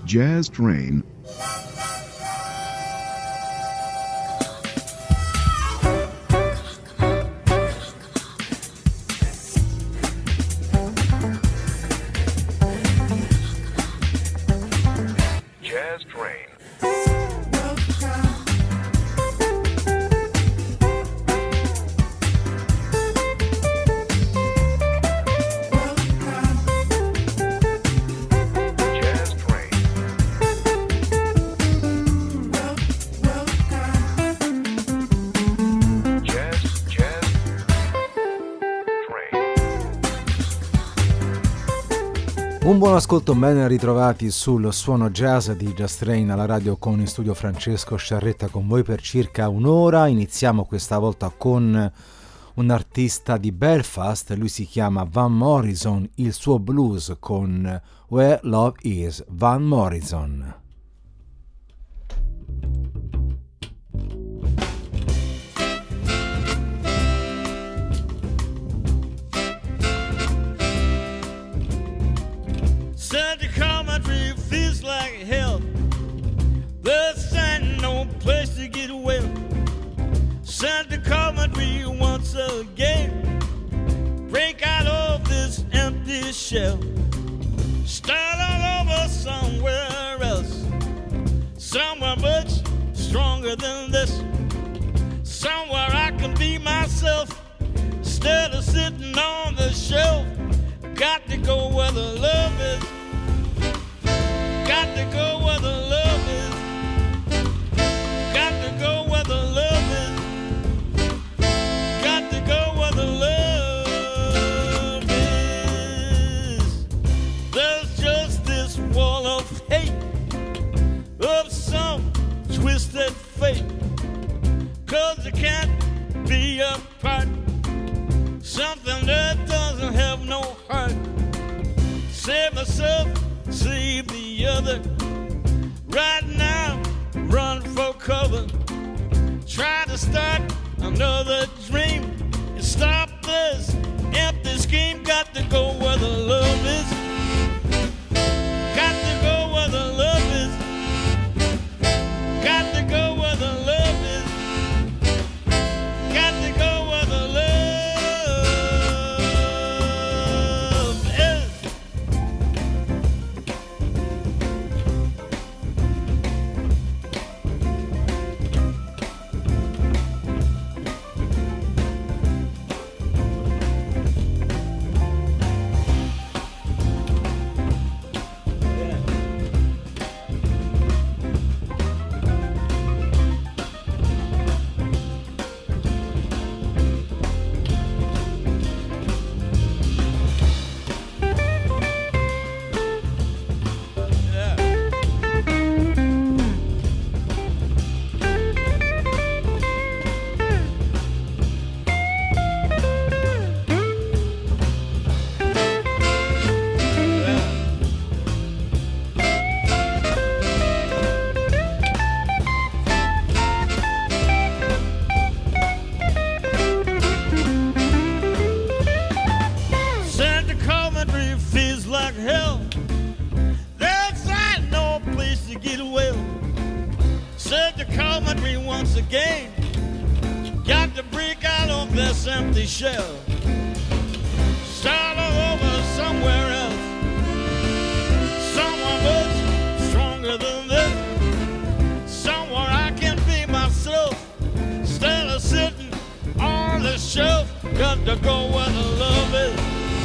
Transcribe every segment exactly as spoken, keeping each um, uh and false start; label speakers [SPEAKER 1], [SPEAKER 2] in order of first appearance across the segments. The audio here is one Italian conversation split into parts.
[SPEAKER 1] Jazz Train.
[SPEAKER 2] Un buon ascolto, ben ritrovati sul suono jazz di Jazz Train alla radio, con in studio Francesco Sciarretta con voi per circa un'ora. Iniziamo questa volta con un artista di Belfast, lui si chiama Van Morrison, il suo blues con Where Love Is, Van Morrison.
[SPEAKER 3] Such a country feels like hell. There's no place to get away. Such a country once again. Break out of this empty shell. Start all over somewhere else. Somewhere much stronger than this. Somewhere I can be myself instead of sitting on the shelf. Got to go where the love is. Got to go where the love is. Got to go where the love is. Got to go where the love is. There's just this wall of hate, of some twisted fate. Cause it can't be apart. Something that doesn't have no heart. Save myself, save the other. Right now, run for cover. Try to start another dream and stop this empty scheme. Got to go where the love is. Got to go where the love is. Got to go where the love is. Got to go where the love is. Empty shell. Start all over somewhere else. Somewhere much stronger than this. Somewhere I can be myself instead of sitting on the shelf. Got to go where the love is.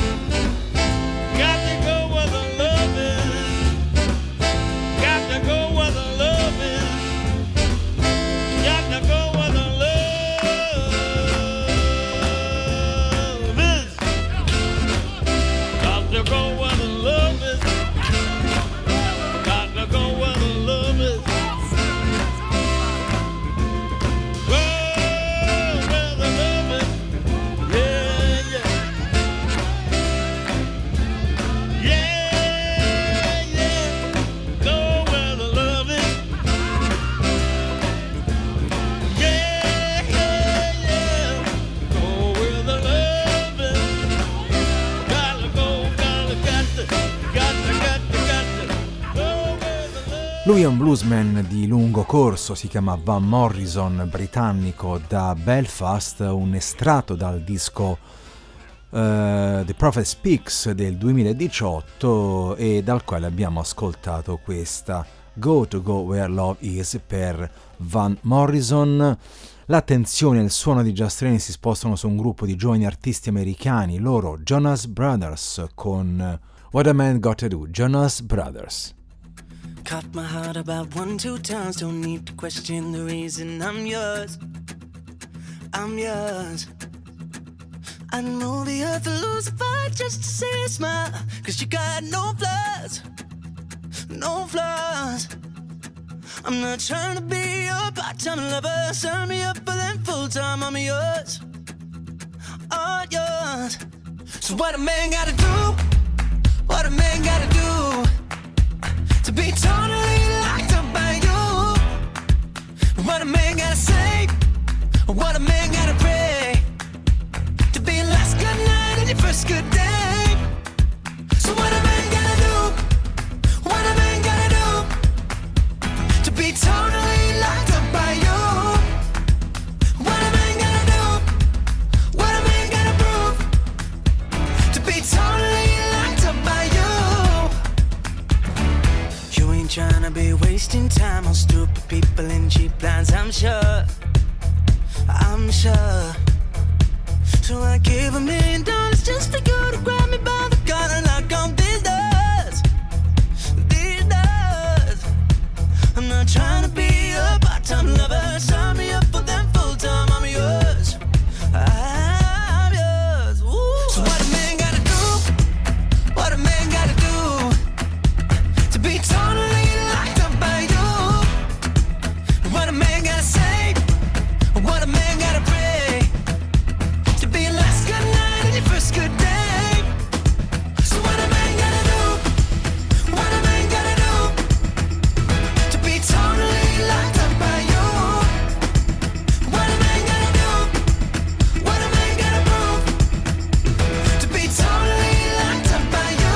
[SPEAKER 3] Got to go where the love is. Got to go where the love is. Got to go where the love is. Got to go where the love is. Got to go where the love is. Go where the love is. Yeah, yeah.
[SPEAKER 2] Lui è un bluesman di lungo corso, si chiama Van Morrison, britannico da Belfast, un estratto dal disco uh, The Prophet Speaks del duemiladiciotto e dal quale abbiamo ascoltato questa Go to Go Where Love Is per Van Morrison. L'attenzione e il suono di Just Train si spostano su un gruppo di giovani artisti americani, loro Jonas Brothers con What a Man Got to Do, Jonas Brothers.
[SPEAKER 1] Caught my heart about one, two times. Don't need to question the reason I'm yours. I'm yours. I'd move the earth to lose a fight just to see a smile. Cause you got no flaws, no flaws. I'm not trying to be your part-time lover. Sign me up for them full-time. I'm yours, all yours. So what a man gotta do, what a man gotta do to be totally locked up by you? What a man gotta say, what a man gotta pray to be your last good night and your first good day. So what a man gotta do, what a man gotta do to be totally locked up by you? What a man gotta do, what a man gotta prove to be totally locked up by you? Trying to be wasting time on stupid people in cheap lines, I'm sure, I'm sure. So I give a million dollars just for you to grab me by the collar and knock on these doors, these doors. I'm not trying to be a part-time lover. Sign me up for them full-time. I'm yours, I'm yours. Ooh. So what a man gotta do, what a man gotta do to be totally what a man gotta pray to be your last good night and your first good day. So what a man gotta do, what a man gotta do to be totally locked up by you? What a man gotta do, what a man gotta prove to be totally locked up by you?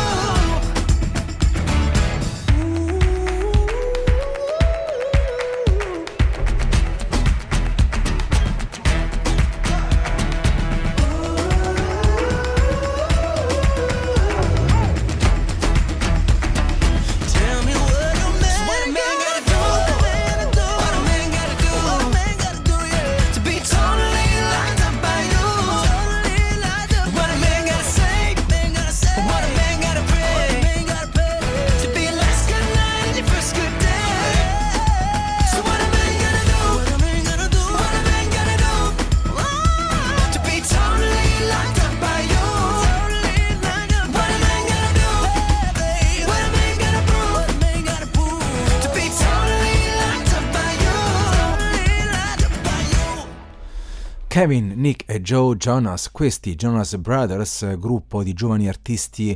[SPEAKER 2] Kevin, Nick e Joe Jonas, questi Jonas Brothers, gruppo di giovani artisti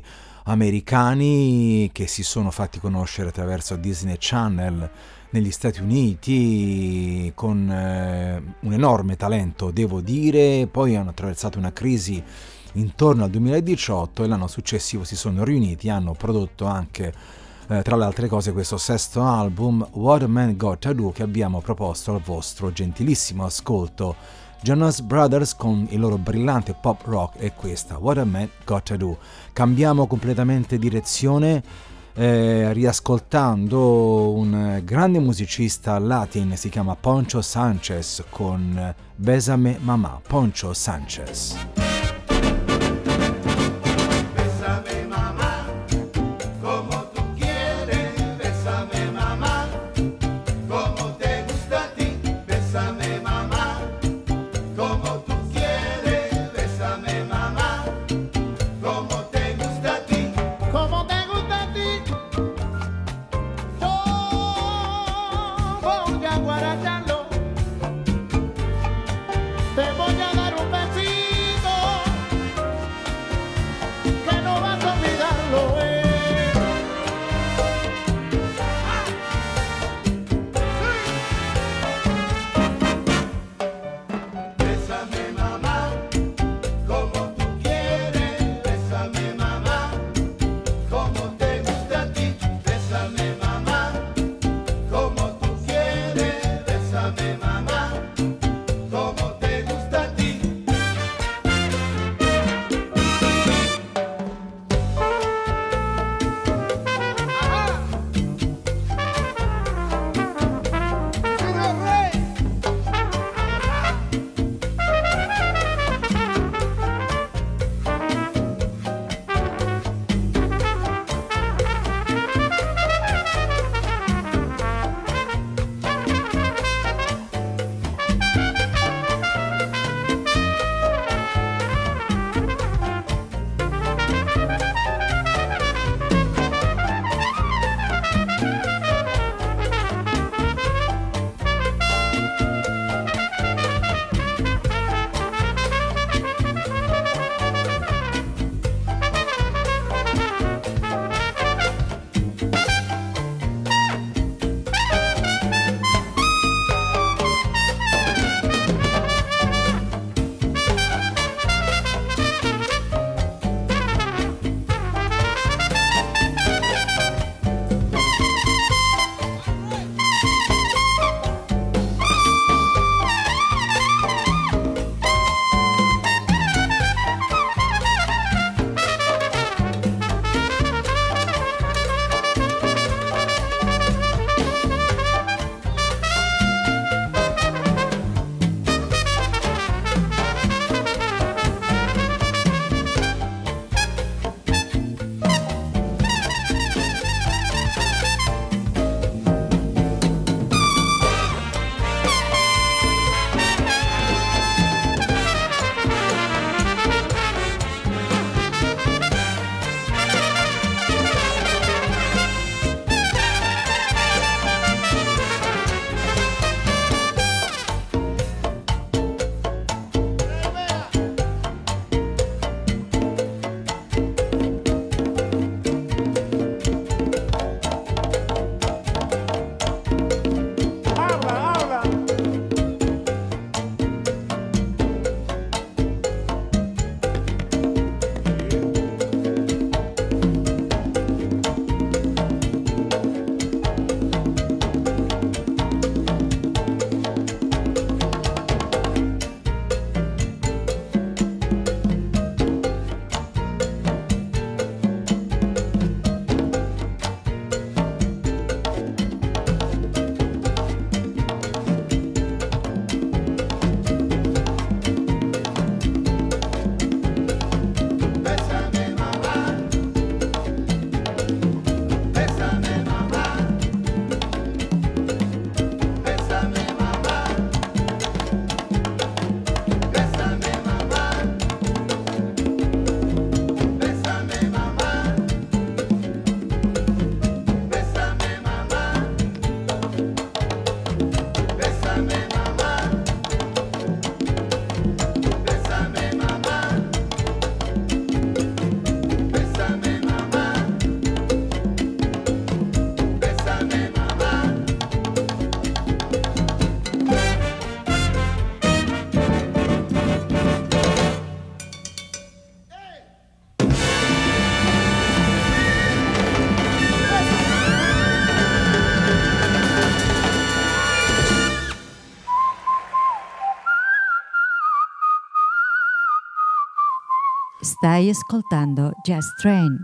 [SPEAKER 2] americani che si sono fatti conoscere attraverso Disney Channel negli Stati Uniti con eh, un enorme talento, devo dire. Poi hanno attraversato una crisi intorno al duemiladiciotto e l'anno successivo si sono riuniti e hanno prodotto anche eh, tra le altre cose questo sesto album What a Man Got to Do, che abbiamo proposto al vostro gentilissimo ascolto. Jonas Brothers con il loro brillante pop rock e questa What a Man Got to Do. Cambiamo completamente direzione eh, riascoltando un grande musicista latin, si chiama Poncho Sanchez con Bésame Mamá. Poncho Sanchez.
[SPEAKER 4] Te voy a dar un besito Stai ascoltando Jazz Train.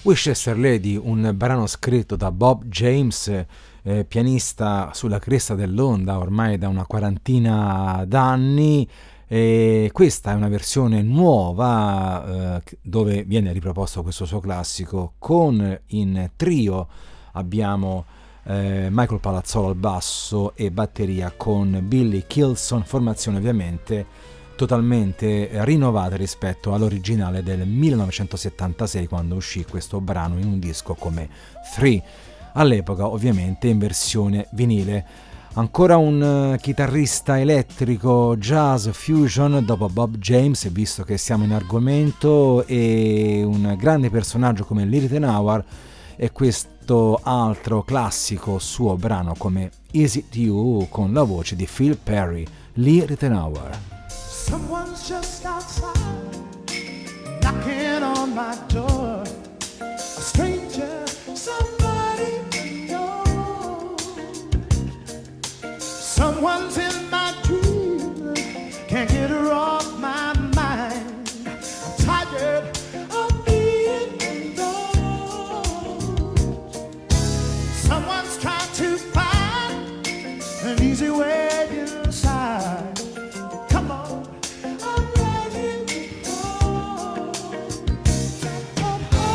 [SPEAKER 2] Winchester Lady, un brano scritto da Bob James, eh, pianista sulla cresta dell'onda ormai da una quarantina d'anni. E questa è una versione nuova eh, dove viene riproposto questo suo classico. Con in trio abbiamo eh, Michael Palazzolo al basso e batteria con Billy Kilson, formazione ovviamente totalmente rinnovata rispetto all'originale del millenovecentosettantasei, quando uscì questo brano in un disco come Three, all'epoca ovviamente in versione vinile. Ancora un uh, chitarrista elettrico jazz fusion dopo Bob James, visto che siamo in argomento, e un grande personaggio come Lee Ritenour, e questo altro classico suo brano come Is It You con la voce di Phil Perry. Lee Ritenour.
[SPEAKER 5] Someone's just outside knocking on my door, a stranger, somebody I know. Someone's in my dream, can't get her off my mind. I'm tired of being alone. Someone's trying to find an easy way inside. Come on, I'm ready to go. Oh, oh.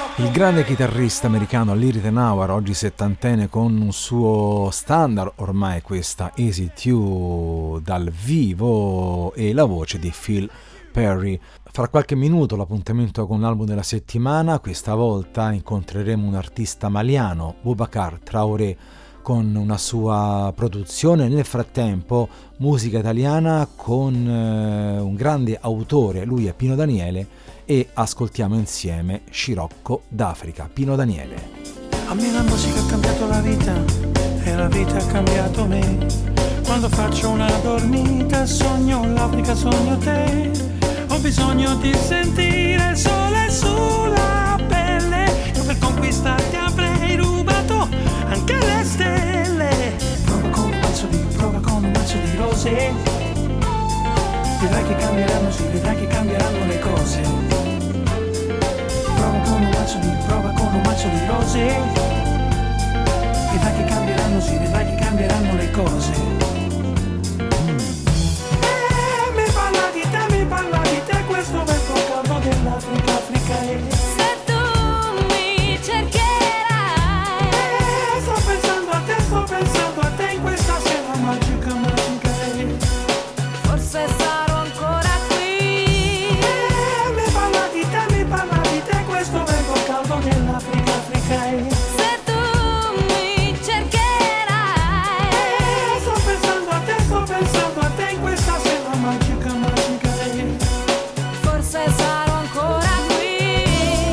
[SPEAKER 2] Il grande chitarrista americano Lee Ritenour, oggi settantenne, con un suo standard, ormai questa Easy two dal vivo, e la voce di Phil Perry. Fra qualche minuto l'appuntamento con l'album della settimana, questa volta incontreremo un artista maliano, Boubacar Traoré, con una sua produzione. Nel frattempo musica italiana con eh, un grande autore, lui è Pino Daniele, e ascoltiamo insieme Scirocco d'Africa. Pino Daniele.
[SPEAKER 6] A me la musica ha cambiato la vita e la vita ha cambiato me. Quando faccio una dormita sogno l'Africa, sogno te. Ho bisogno di sentire il sole sulla pelle. Io per conquistarti avrei rubato anche le stelle. Prova con un mazzo di, prova con un mazzo di rose. Vedrai che cambieranno, sì, vedrai che cambieranno le cose. Prova con un mazzo di, prova con un mazzo di rose. Vedrai che cambieranno, sì, vedrai che cambieranno le cose. Eh, mi parla di te, mi parla di te, questo vento caldo dell'Africa, Africa è.
[SPEAKER 7] Se tu mi cercherai.
[SPEAKER 6] Eh, sto pensando a te, sto pensando a te in questa sera magica, magica è.
[SPEAKER 7] Forse sarò ancora qui.
[SPEAKER 6] Eh, mi parla di te, mi parla di te, questo vento caldo dell'Africa, Africa è.
[SPEAKER 7] Se tu mi cercherai.
[SPEAKER 6] Eh, sto pensando a te, sto pensando a te in questa sera magica, magica è.
[SPEAKER 7] Forse sarò ancora qui.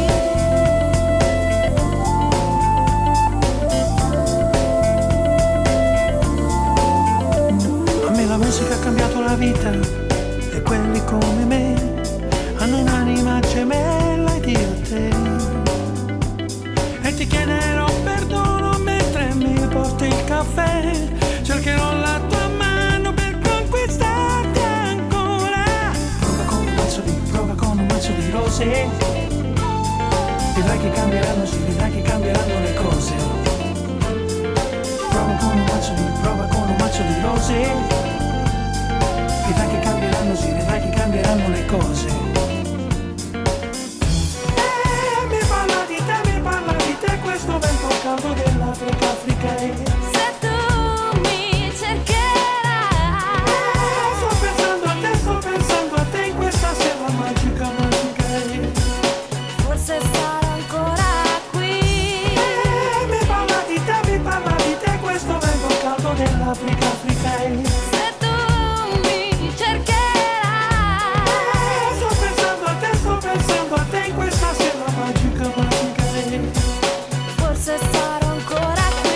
[SPEAKER 6] A me la musica ha cambiato la vita e quelli come me hanno un'anima gemella ed io te. E ti chiederò perdono mentre mi porti il caffè. Cercherò la tua mano per conquistarti ancora. Prova con un mazzo di, prova con un mazzo di rose. Vedrai che cambieranno, sì, vedrai che cambieranno le cose. Prova con un mazzo di, prova con un mazzo di rose. Vedrai che cambieranno, sì, vedrai che cambieranno le cose. Eh, mi parla di te, mi parla di te, questo vento caldo dell'Africa, Africa è.
[SPEAKER 7] Se tu mi cercherai.
[SPEAKER 6] Eh, sto pensando a te, sto pensando a te in questa sera magica, magica è.
[SPEAKER 7] Forse sarò ancora qui.
[SPEAKER 6] Eh, mi parla di te, mi parla di te, questo vento caldo dell'Africa, Africa è.
[SPEAKER 7] Se tu mi cercherai.
[SPEAKER 6] Eh, sto pensando a te, sto pensando a te in questa sera magica, magica è.
[SPEAKER 7] Forse sarò ancora qui.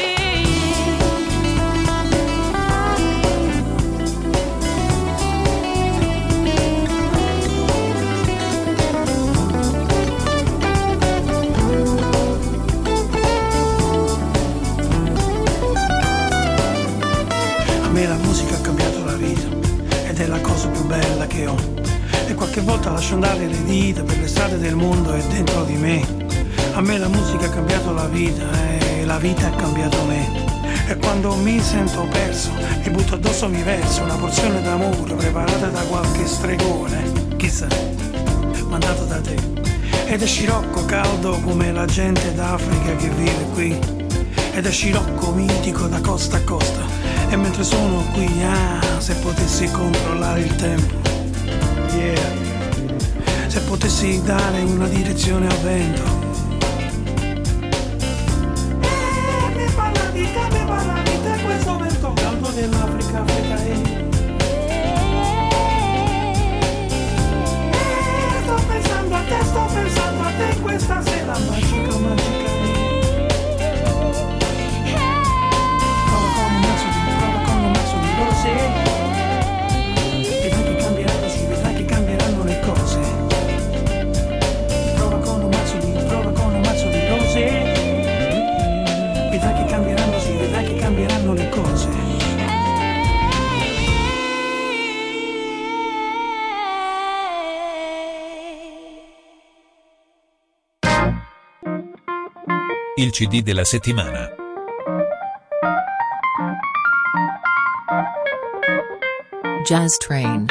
[SPEAKER 6] A me la musica ha cambiato la vita ed è la cosa più bella che ho. E qualche volta lascio andare le dita per le strade del mondo e dentro di me. A me la musica ha cambiato la vita e la vita ha cambiato me. E quando mi sento perso mi butto addosso, mi verso una porzione d'amore preparata da qualche stregone, chissà, mandato da te. Ed è scirocco caldo come la gente d'Africa che vive qui. Ed è scirocco mitico da costa a costa. E mentre sono qui, ah, se potessi controllare il tempo, yeah. Se potessi dare una direzione al vento. Eh, mi parla di te, mi parla di te, questo vento caldo dell'Africa, Africa è. Eh, sto pensando a te, sto pensando a te in questa sera magica, magica è. Prova con un mazzo di, prova con un mazzo di rose. Vedrai che cambieranno, sì, vedrai che cambieranno le cose. Prova con un mazzo di, prova con un mazzo di rose. Vedrai che cambieranno, sì, vedrai che cambieranno le cose.
[SPEAKER 8] Il C D della settimana.
[SPEAKER 9] Jazz Train.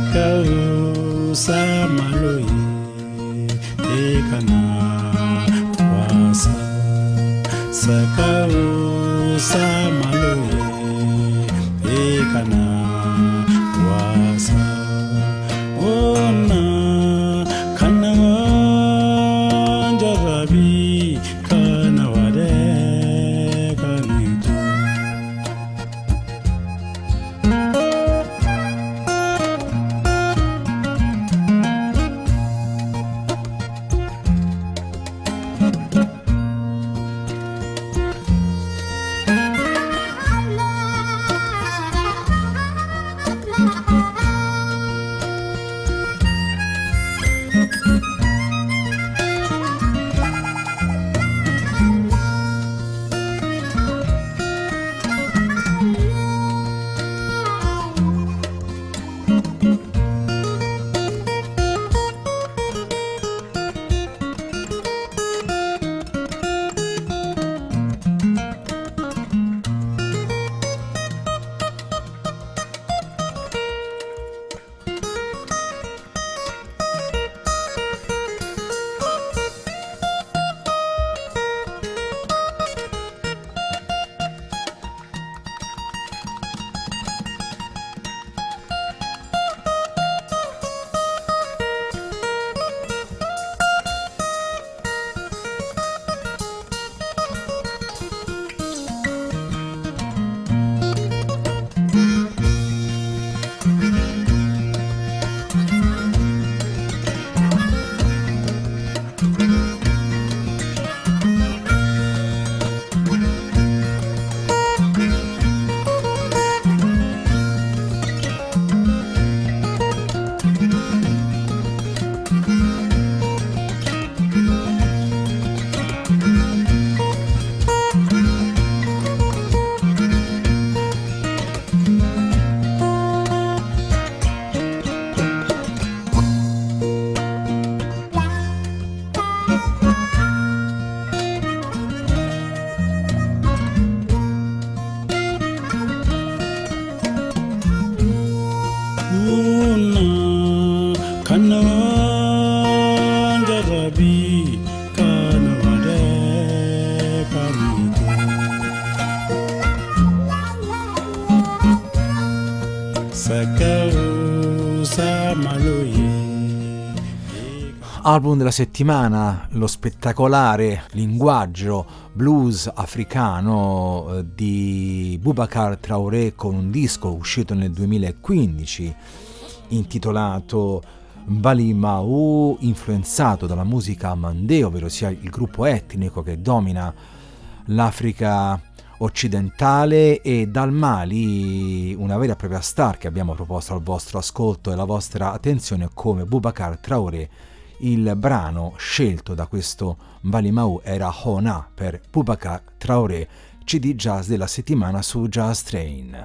[SPEAKER 10] Sakau samaloye ekana wasa. Sakau samaloye ekana wasa. Ona kana jarabi kana wade kanitu.
[SPEAKER 2] Album della settimana, lo spettacolare linguaggio blues africano di Boubacar Traoré con un disco uscito nel duemilaquindici intitolato Balimau, influenzato dalla musica mandé, ovvero sia il gruppo etnico che domina l'Africa occidentale, e dal Mali una vera e propria star che abbiamo proposto al vostro ascolto e alla vostra attenzione come Boubacar Traoré. Il brano scelto da questo Balimau era Hona per Boubacar Traoré, C D Jazz della settimana su Jazz Train.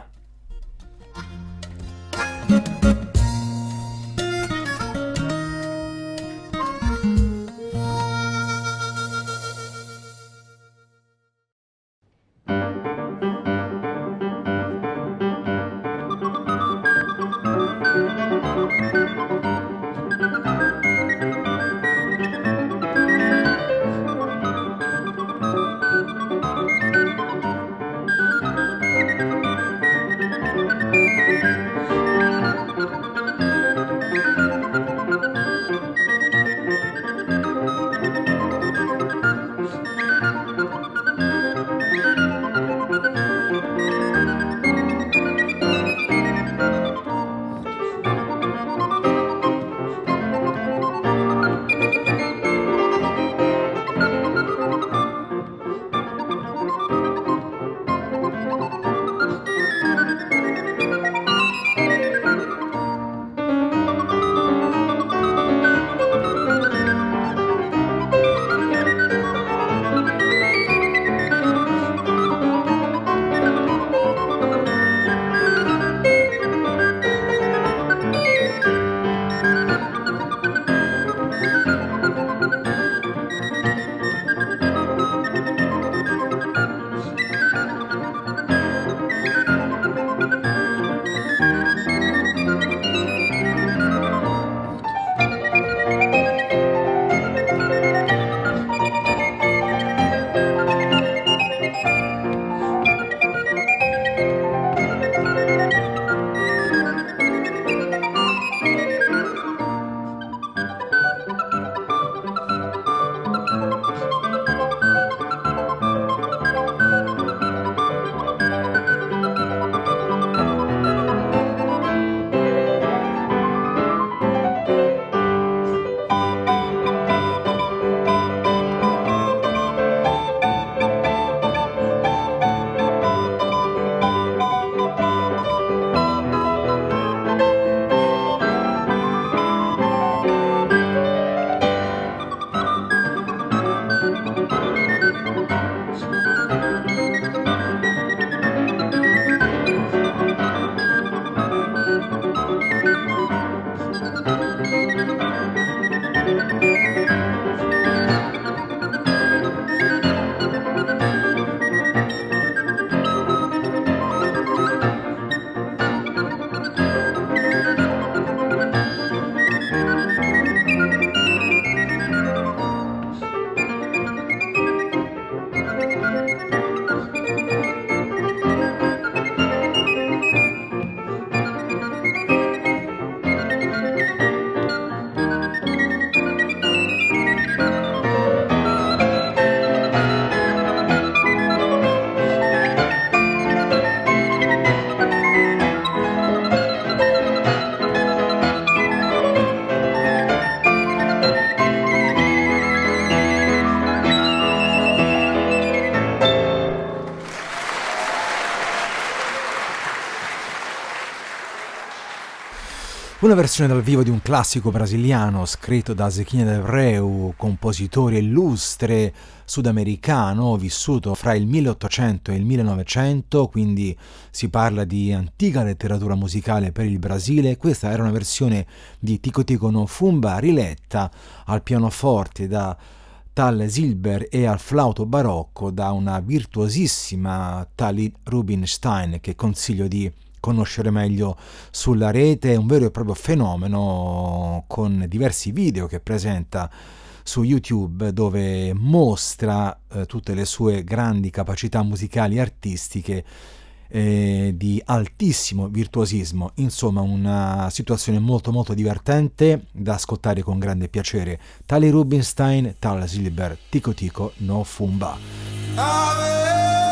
[SPEAKER 2] Una versione dal vivo di un classico brasiliano scritto da Zequinha de Abreu, compositore illustre sudamericano vissuto fra il milleottocento e il millenovecento, quindi si parla di antica letteratura musicale per il Brasile. Questa era una versione di Tico Tico no Fumba riletta al pianoforte da Tal Zilber e al flauto barocco da una virtuosissima Tali Rubinstein, che consiglio di conoscere meglio sulla rete. È un vero e proprio fenomeno, con diversi video che presenta su YouTube, dove mostra eh, tutte le sue grandi capacità musicali e artistiche eh, di altissimo virtuosismo. Insomma, una situazione molto molto divertente da ascoltare con grande piacere. Tali Rubinstein, Tal Zilber, Tico Tico no Fumba.
[SPEAKER 5] Ave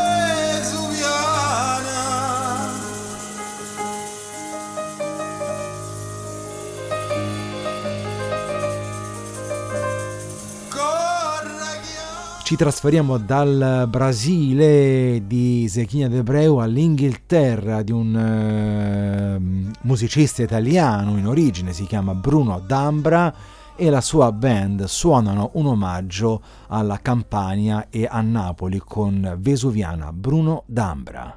[SPEAKER 2] Ci trasferiamo dal Brasile di Zequinha de Abreu all'Inghilterra, di un uh, musicista italiano in origine, si chiama Bruno D'Ambra, e la sua band suonano un omaggio alla Campania e a Napoli con Vesuviana. Bruno D'Ambra.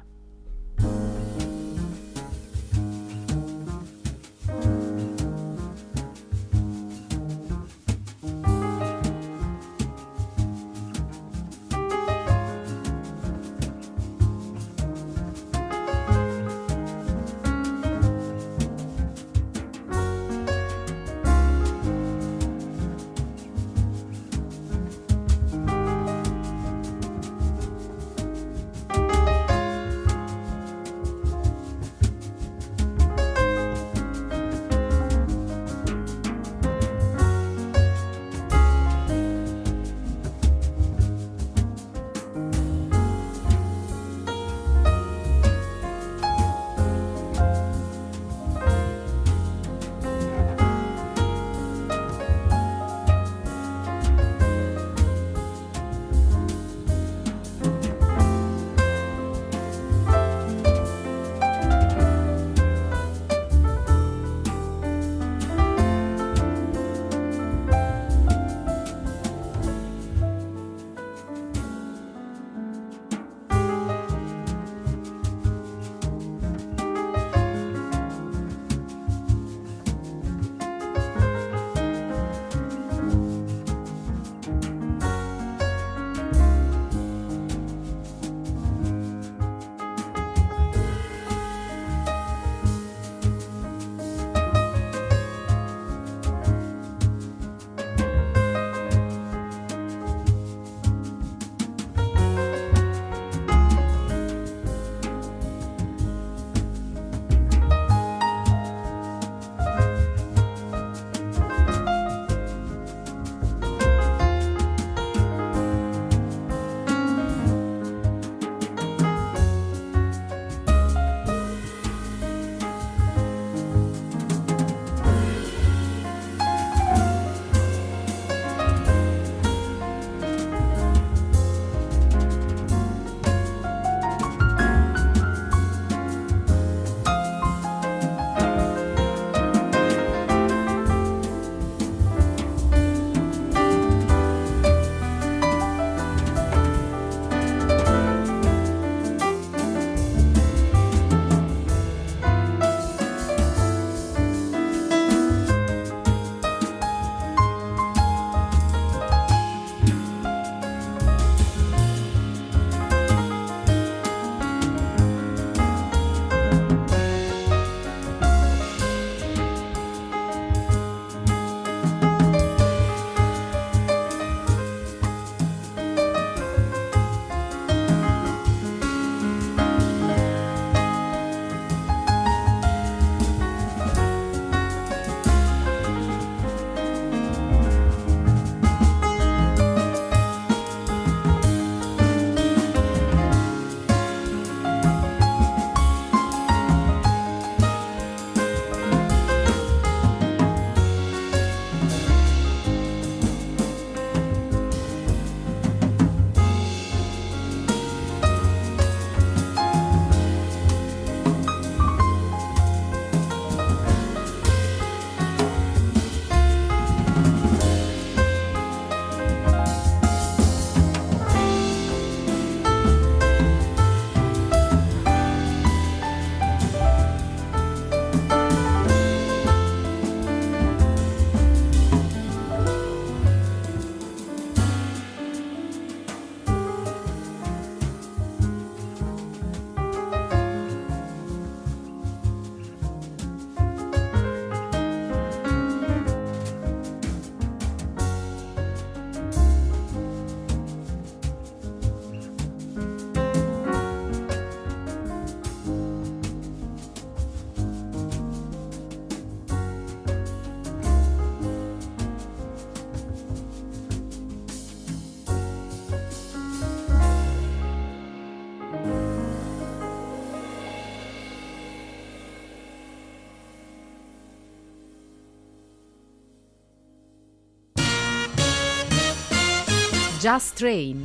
[SPEAKER 11] Jazz Train.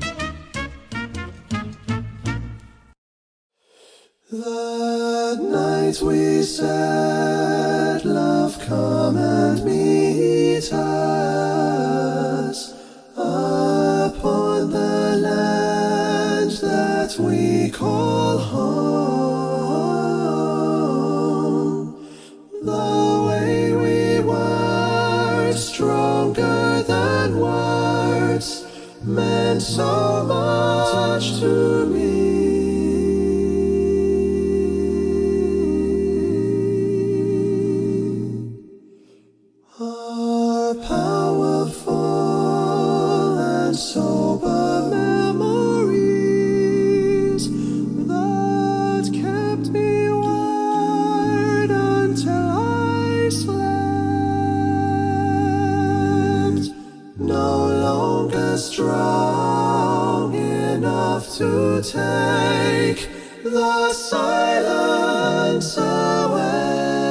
[SPEAKER 5] The night we said, love, come and meet us upon the land that we call home. The way we were, stronger than words, meant so much to me. Sober memories that kept me wired until I slept. No longer strong enough to take the silence away.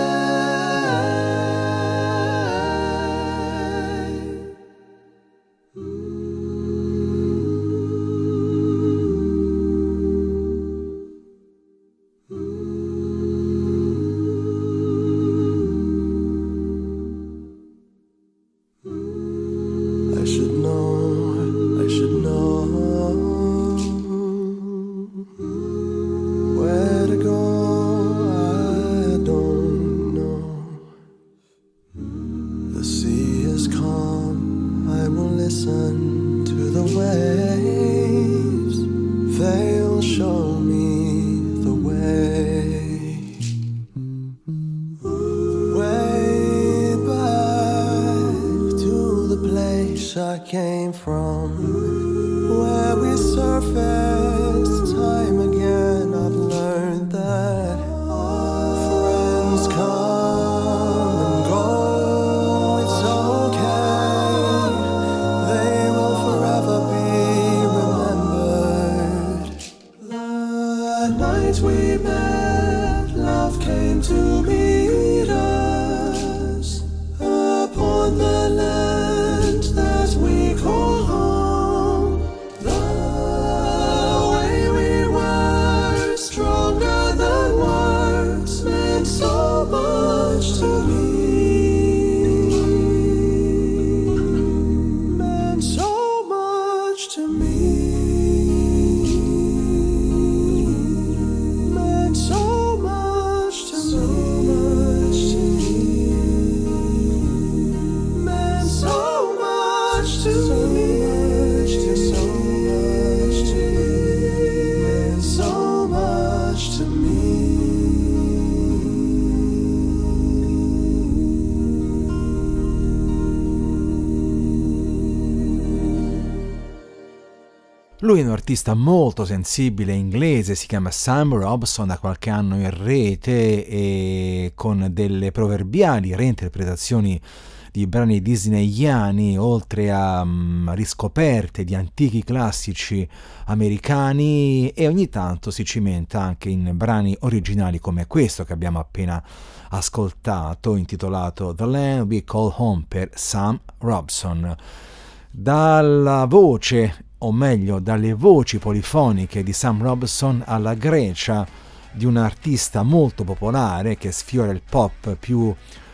[SPEAKER 2] Lui è un artista molto sensibile inglese, si chiama Sam Robson, da qualche anno in rete e con delle proverbiali reinterpretazioni di brani disneyani, oltre a um, riscoperte di antichi classici americani, e ogni tanto si cimenta anche in brani originali come questo che abbiamo appena ascoltato, intitolato The Land We Call Home per Sam Robson. Dalla voce, o meglio dalle voci polifoniche di Sam Robson alla Grecia di un artista molto popolare che sfiora il pop più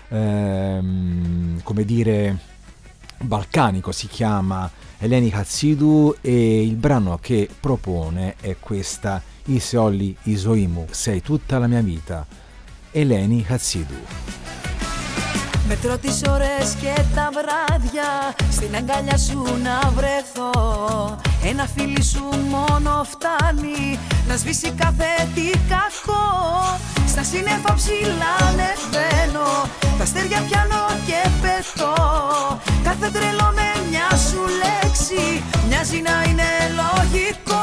[SPEAKER 2] ehm, come dire balcanico, si chiama Eleni Hatsidou, e il brano che propone è questa Iseolli Isoimu, sei tutta la mia vita, Eleni Hatsidou.
[SPEAKER 12] Μετρώ τις ώρες και τα βράδια στην αγκαλιά σου να βρεθώ. Ένα φίλι σου μόνο φτάνει να σβήσει κάθε τι κακό. Στα σύννεφα ψηλά ανεβαίνω, τα αστέρια πιάνω και πετώ. Κάθε τρελό με μια σου λέξη μοιάζει να είναι λογικό.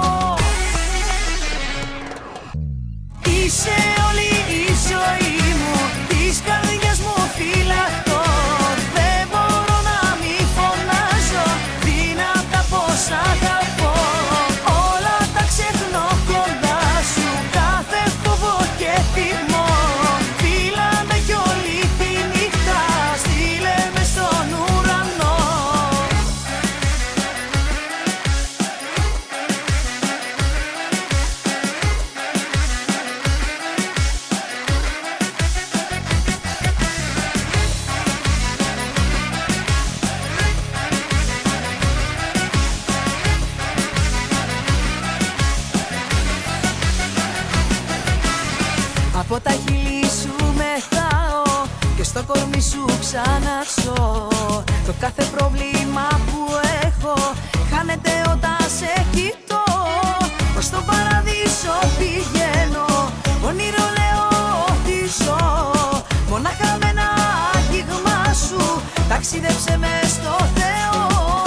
[SPEAKER 12] Είσαι όλη η ζωή μου, της καρδιάς μου φυλαχτώ. Δεν μπορώ να μη φωνάζω δυνατά πως αγαπώ. Όλα τα ξεχνώ κοντά σου, κάθε φόβο και θυμό. Φίλα με κι όλη τη νύχτα, στείλε με στον ουρανό. Από τα χείλη σου μεθάω και στο κορμί σου ξαναξώ. Το κάθε πρόβλημα που έχω χάνεται όταν σε κοιτώ. Ως στον παραδείσο πηγαίνω, όνειρο λέω ότι ζω. Μονάχα με ένα αγγίγμα σου ταξίδεψε με στο Θεό.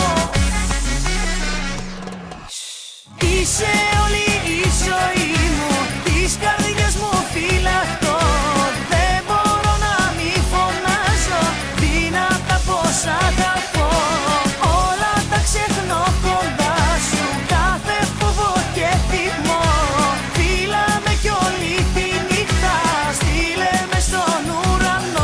[SPEAKER 12] Είσαι όλη η ζωή μου, της καρδιάς μου φύλακτο. Δεν μπορώ να μη φωνάζω δυνατά πως αγαπώ. Όλα τα ξεχνώ κοντά σου, κάθε φόβο και θυμό. Φίλα με κι όλη τη νύχτα, στείλε με στον ουρανό.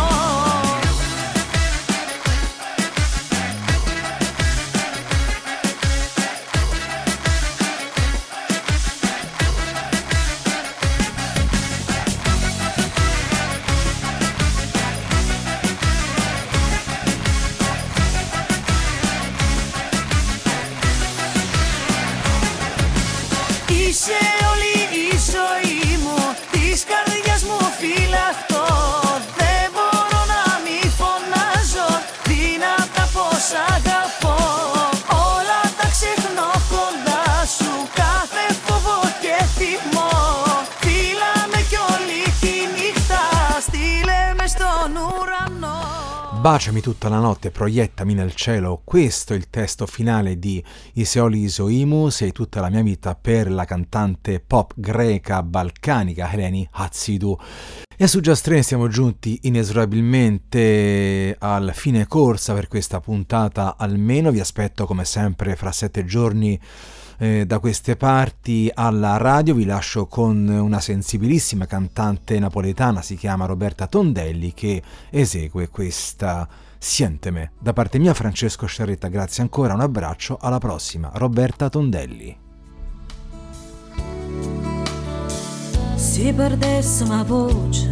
[SPEAKER 12] Είσαι όλη η ζωή μου, της καρδιάς μου φύλακτο. Δεν μπορώ να μη φωνάζω δυνατά πως αγαπώ. Όλα τα ξεχνώ κοντά σου, κάθε φόβο και θυμό. Φίλα με κι όλη τη νύχτα, στείλε με στον ουρανό.
[SPEAKER 2] Baciami tutta la notte, proiettami nel cielo, questo è il testo finale di Iseoli Isoimu, sei tutta la mia vita per la cantante pop greca balcanica Eleni Hatsidou. E su Just Train siamo giunti inesorabilmente al fine corsa per questa puntata almeno, vi aspetto come sempre fra sette giorni Eh, da queste parti alla radio. Vi lascio con una sensibilissima cantante napoletana, si chiama Roberta Tondelli, che esegue questa Sienteme. Da parte mia Francesco Sciarretta, grazie ancora, un abbraccio, alla prossima. Roberta Tondelli.
[SPEAKER 11] Se perdessimo la voce,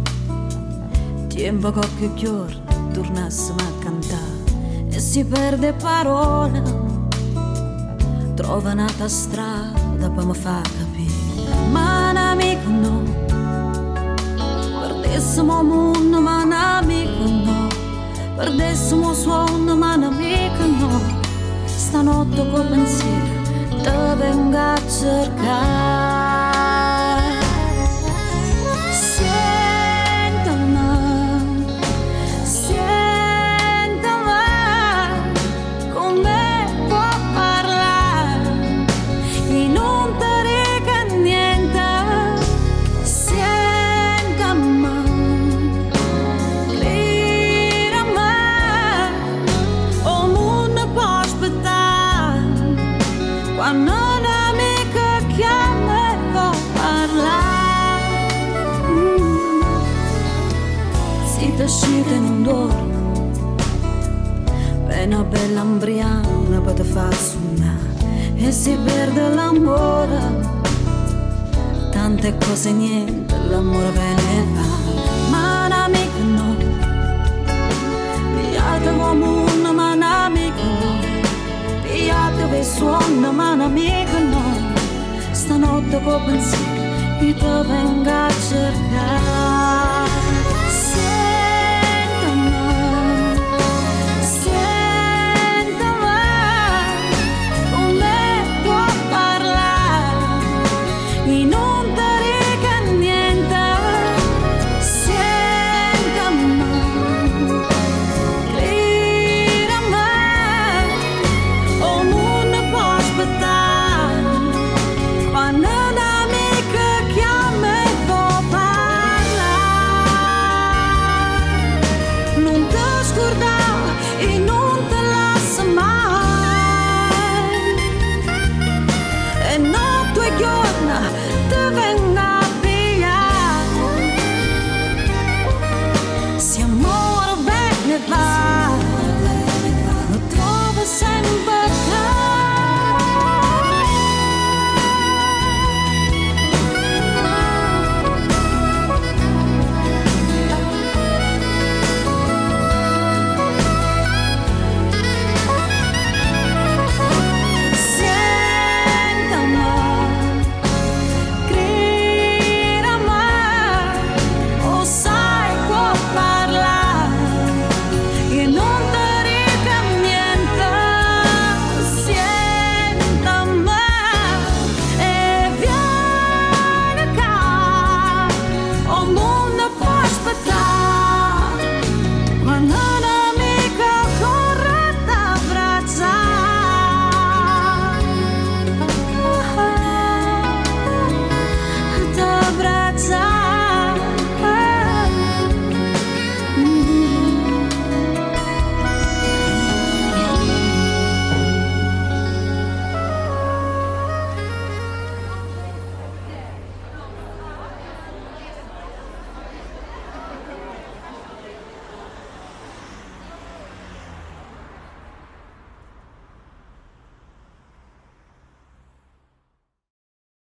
[SPEAKER 11] tempo qualche giorno tornassimo a cantare, e si perde parola, trova un'altra strada per mi far capire. Ma un amico no, perdessimo il mondo, ma un amico no, perdessimo il suono, ma un amico no. Stanotte col pensiero te vengo a cercare. Sentami, sentami, con me può parlare e non ti rega niente. Sentami, mirami, o mondo può aspettare quando un'amica chiama e può parlare. Mm. Si ti scende in un dormo, una bella ambriana per te far suonare, e si perde l'amore, tante cose niente, l'amore viene e va. Ma un amico no, pigliate mondo, ma un amico no, pigliate per suono, ma un amico no. Stanotte col pensiero io ti vengo